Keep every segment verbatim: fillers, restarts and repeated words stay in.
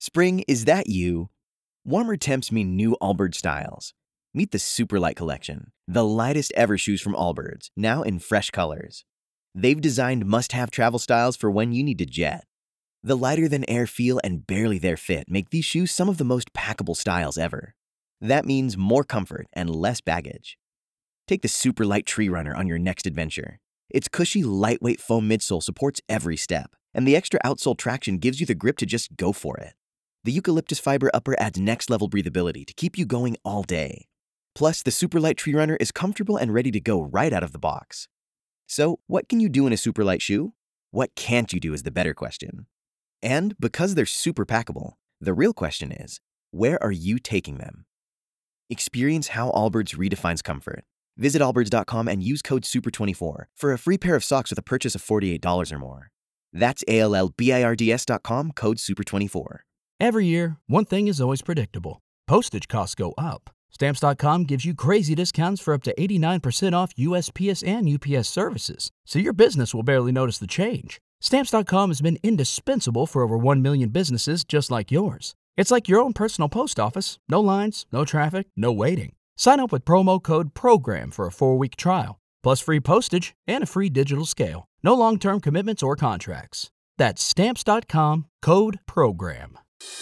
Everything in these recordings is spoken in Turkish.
Spring, is that you? Warmer temps mean new Allbirds styles. Meet the Superlight Collection, the lightest ever shoes from Allbirds, now in fresh colors. They've designed must-have travel styles for when you need to jet. The lighter-than-air feel and barely-there fit make these shoes some of the most packable styles ever. That means more comfort and less baggage. Take the Superlight Tree Runner on your next adventure. Its cushy, lightweight foam midsole supports every step, and the extra outsole traction gives you the grip to just go for it. The eucalyptus fiber upper adds next-level breathability to keep you going all day. Plus, the Superlight Tree Runner is comfortable and ready to go right out of the box. So, what can you do in a Superlight shoe? What can't you do is the better question. And because they're super packable, the real question is, where are you taking them? Experience how Allbirds redefines comfort. Visit allbirds dot com and use code super twenty-four for a free pair of socks with a purchase of forty-eight dollars or more. That's A L L B I R D S dot com, code super twenty-four. Every year, one thing is always predictable. Postage costs go up. Stamps dot com gives you crazy discounts for up to eighty-nine percent off U S P S and U P S services, so your business will barely notice the change. Stamps dot com has been indispensable for over one million businesses just like yours. It's like your own personal post office. No lines, no traffic, no waiting. Sign up with promo code PROGRAM for a four-week trial, plus free postage and a free digital scale. No long-term commitments or contracts. That's Stamps dot com, code PROGRAM.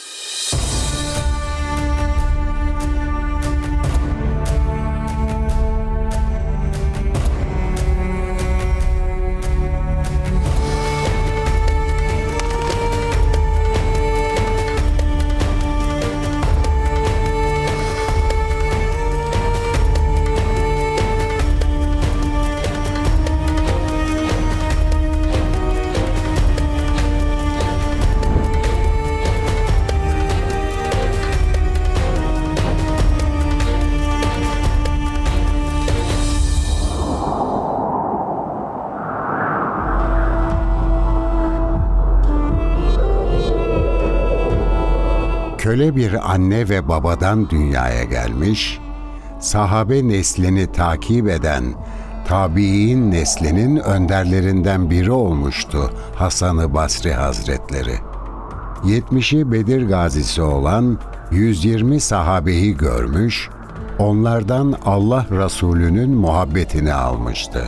Köle bir anne ve babadan dünyaya gelmiş, sahabe neslini takip eden tabi'in neslinin önderlerinden biri olmuştu Hasan-ı Basri Hazretleri. yetmişi Bedir gazisi olan yüz yirmi sahabeyi görmüş, onlardan Allah Resulü'nün muhabbetini almıştı.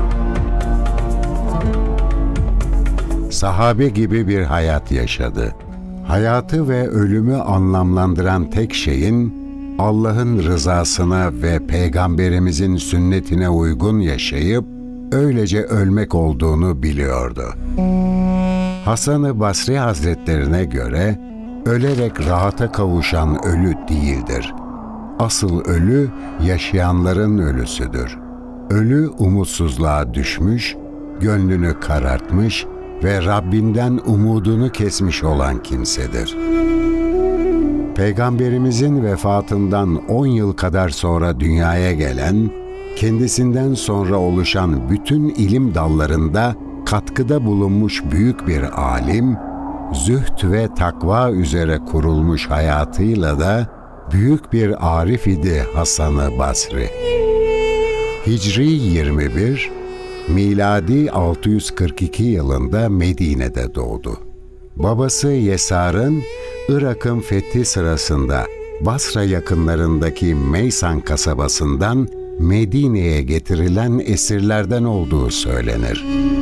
Sahabe gibi bir hayat yaşadı. Hayatı ve ölümü anlamlandıran tek şeyin Allah'ın rızasına ve Peygamberimizin sünnetine uygun yaşayıp öylece ölmek olduğunu biliyordu. Hasan-ı Basri Hazretlerine göre ölerek rahata kavuşan ölü değildir. Asıl ölü yaşayanların ölüsüdür. Ölü umutsuzluğa düşmüş, gönlünü karartmış ve Rabbinden umudunu kesmiş olan kimsedir. Peygamberimizin vefatından on yıl kadar sonra dünyaya gelen, kendisinden sonra oluşan bütün ilim dallarında katkıda bulunmuş büyük bir alim, zühd ve takva üzere kurulmuş hayatıyla da büyük bir arif idi Hasan-ı Basri. Hicri yirmi bir, miladi altı yüz kırk iki yılında Medine'de doğdu. Babası Yesar'ın Irak'ın fethi sırasında Basra yakınlarındaki Meysan kasabasından Medine'ye getirilen esirlerden olduğu söylenir.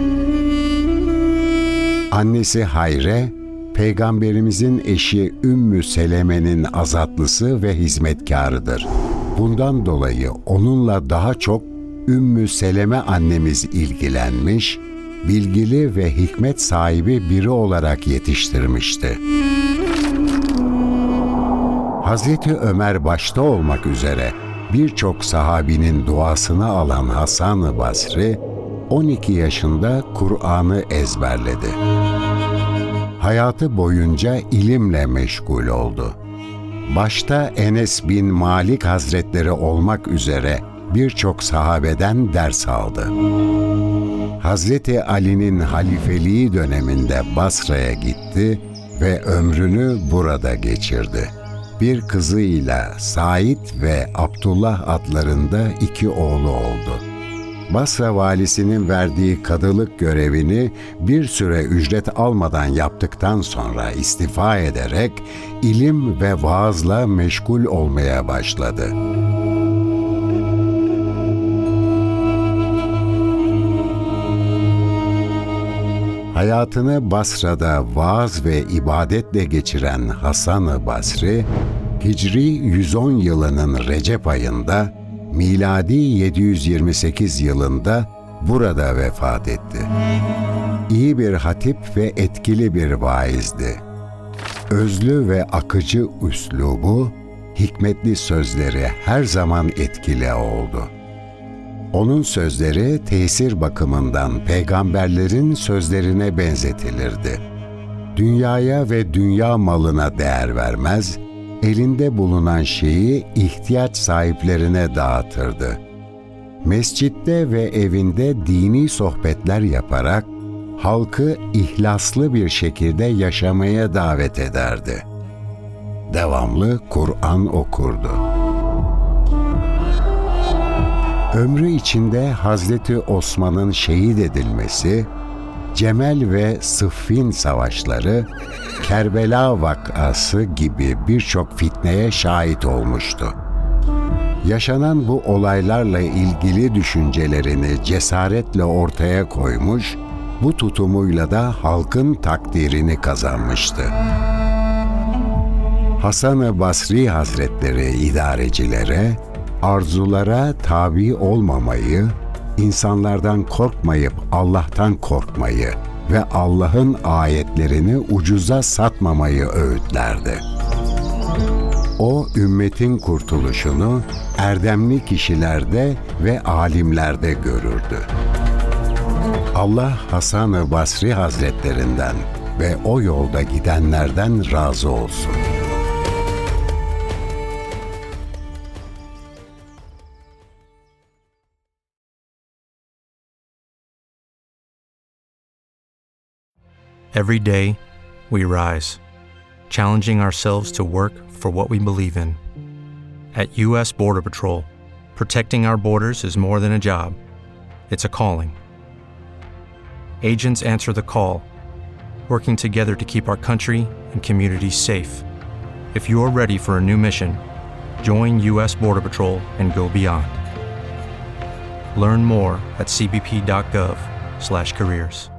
Annesi Hayre, Peygamberimizin eşi Ümmü Seleme'nin azatlısı ve hizmetkarıdır. Bundan dolayı onunla daha çok Ümmü Seleme annemiz ilgilenmiş, bilgili ve hikmet sahibi biri olarak yetiştirmişti. Hazreti Ömer başta olmak üzere birçok sahabinin duasını alan Hasan-ı Basri, on iki yaşında Kur'an'ı ezberledi. Hayatı boyunca ilimle meşgul oldu. Başta Enes bin Malik Hazretleri olmak üzere birçok sahabeden ders aldı. Hazreti Ali'nin halifeliği döneminde Basra'ya gitti ve ömrünü burada geçirdi. Bir kızıyla Said ve Abdullah adlarında iki oğlu oldu. Basra valisinin verdiği kadılık görevini bir süre ücret almadan yaptıktan sonra istifa ederek ilim ve vaazla meşgul olmaya başladı. Hayatını Basra'da vaaz ve ibadetle geçiren Hasan-ı Basri, Hicri yüz on yılının Recep ayında, miladi yedi yüz yirmi sekiz yılında burada vefat etti. İyi bir hatip ve etkili bir vaizdi. Özlü ve akıcı üslubu, hikmetli sözleri her zaman etkili oldu. Onun sözleri tesir bakımından peygamberlerin sözlerine benzetilirdi. Dünyaya ve dünya malına değer vermez, elinde bulunan şeyi ihtiyaç sahiplerine dağıtırdı. Mescitte ve evinde dini sohbetler yaparak halkı ihlaslı bir şekilde yaşamaya davet ederdi. Devamlı Kur'an okurdu. Ömrü içinde Hazreti Osman'ın şehit edilmesi, Cemel ve Sıffin savaşları, Kerbela vakası gibi birçok fitneye şahit olmuştu. Yaşanan bu olaylarla ilgili düşüncelerini cesaretle ortaya koymuş, bu tutumuyla da halkın takdirini kazanmıştı. Hasan-ı Basri Hazretleri idarecilere, arzulara tabi olmamayı, insanlardan korkmayıp Allah'tan korkmayı ve Allah'ın ayetlerini ucuza satmamayı öğütlerdi. O, ümmetin kurtuluşunu erdemli kişilerde ve alimlerde görürdü. Allah Hasan-ı Basri Hazretlerinden ve o yolda gidenlerden razı olsun. Every day, we rise, challenging ourselves to work for what we believe in. At U S Border Patrol, protecting our borders is more than a job. It's a calling. Agents answer the call, working together to keep our country and communities safe. If you are ready for a new mission, join U S Border Patrol and go beyond. Learn more at c b p dot gov slash careers.